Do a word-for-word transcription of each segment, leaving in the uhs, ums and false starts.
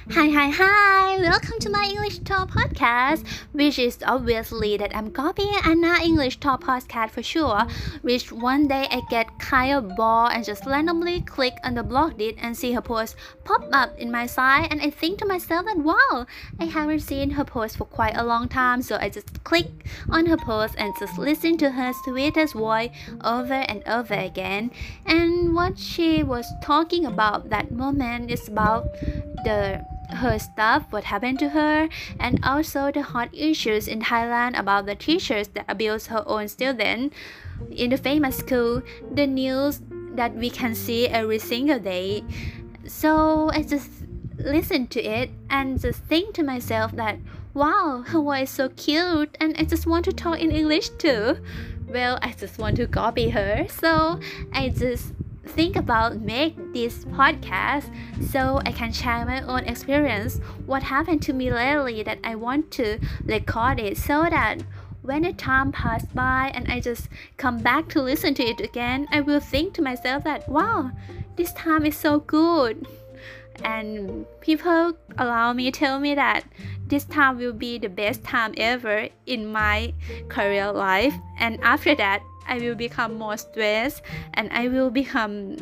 Hi, hi, hi! Welcome to my English Talk podcast, which is obviously that I'm copying Anna English Talk podcast for sure. Which one day I get kind of bored and just randomly click on the blog did and see her post pop up in my side, and I think to myself that wow, I haven't seen her post for quite a long time, so I just click on her post and just listen to her sweetest voice over and over again. And what she was talking about that moment is about the her stuff, what happened to her, and also the hot issues in Thailand about the teachers that abuse her own students in the famous school, the news that we can see every single day. So I just listen to it and just think to myself that wow, her voice is so cute, and I just want to talk in English too. Well, I just want to copy her, so I just think about make this podcast so I can share my own experience, what happened to me lately, that I want to record it so that when the time passed by and I just come back to listen to it again, I will think to myself that wow, this time is so good. And people allow me tell me that this time will be the best time ever in my career life, and after that I will become more stressed and I will become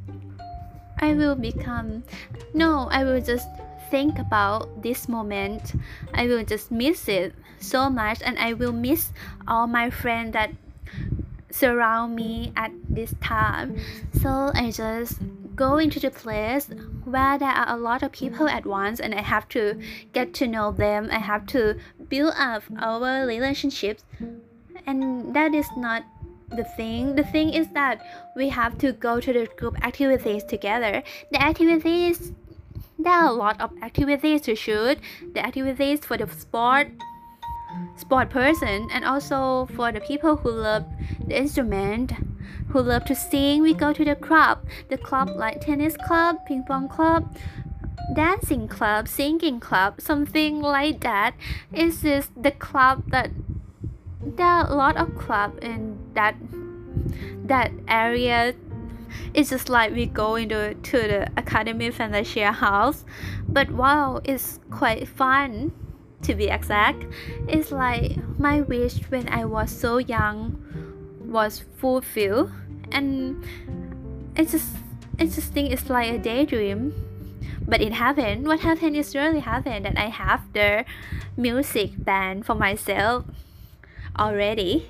I will become no I will just think about this moment. I will just miss it so much, and I will miss all my friends that surround me at this time. So I just go into the place where there are a lot of people at once, and I have to get to know them. I have to build up our relationships, and that is not the thing. The thing is that we have to go to the group activities together. The activities, there are a lot of activities to shoot. The activities for the sport sport person, and also for the people who love the instrument, who love to sing. We go to the club the club like tennis club, ping pong club, dancing club, singing club, something like that. It's just the club that there are a lot of club in that that area. It's just like we go into to the Academy Fantasia house, but wow, it's quite fun. To be exact, it's like my wish when I was so young was fulfilled, and I just I just think it's like a daydream, but it happened. What happened is really happened, that I have the music band for myself already.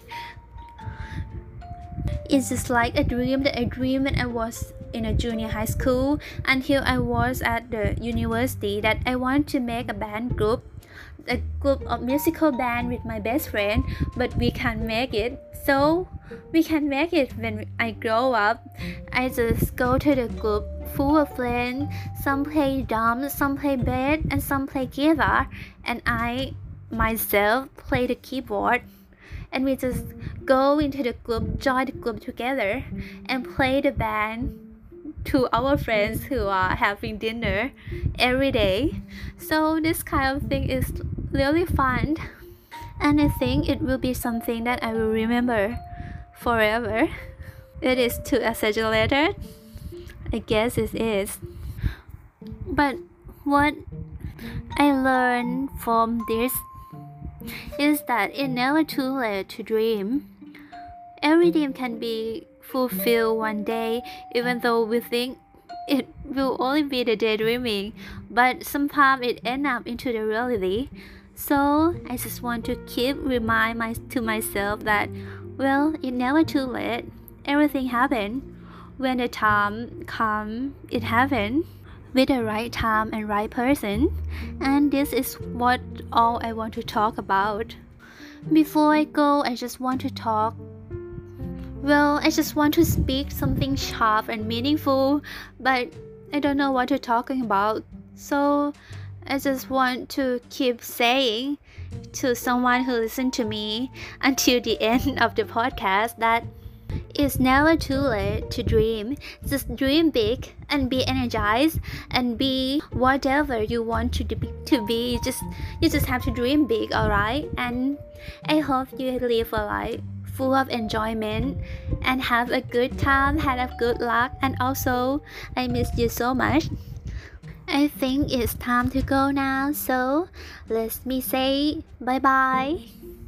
It's just like a dream that I dreamed when I was in a junior high school until I was at the university, that I want to make a band group, a group of musical band with my best friend, but we can't make it. So we can make it when I grow up. I just go to the group full of friends. Some play drums, some play bass, and some play guitar, and I myself play the keyboard. And we just go into the group, join the group together, and play the band to our friends who are having dinner every day. So this kind of thing is really fun, and I think it will be something that I will remember forever. It is too exaggerated, I guess it is. But what I learned from this is that it's never too late to dream. Every dream can be fulfilled one day, even though we think it will only be the daydreaming, but sometimes it ends up into the reality. So I just want to keep remind my, to myself that well, it's never too late. Everything happens. When the time comes, it happens with the right time and right person. And this is what all I want to talk about. Before I go, I just want to talk Well, I just want to speak something sharp and meaningful, but I don't know what to talking about. So I just want to keep saying to someone who listens to me until the end of the podcast that it's never too late to dream. Just dream big and be energized and be whatever you want to be. To be. You just you just have to dream big, alright? And I hope you live a life full of enjoyment and have a good time, have a good luck, and also I miss you so much. I think it's time to go now, so let me say bye bye.